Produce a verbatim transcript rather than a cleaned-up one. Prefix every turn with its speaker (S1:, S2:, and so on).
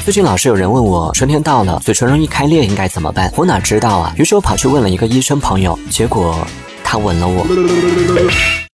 S1: 最近老是有人问我，春天到了，嘴唇容易开裂应该怎么办？我哪知道啊？于是我跑去问了一个医生朋友，结果他吻了我。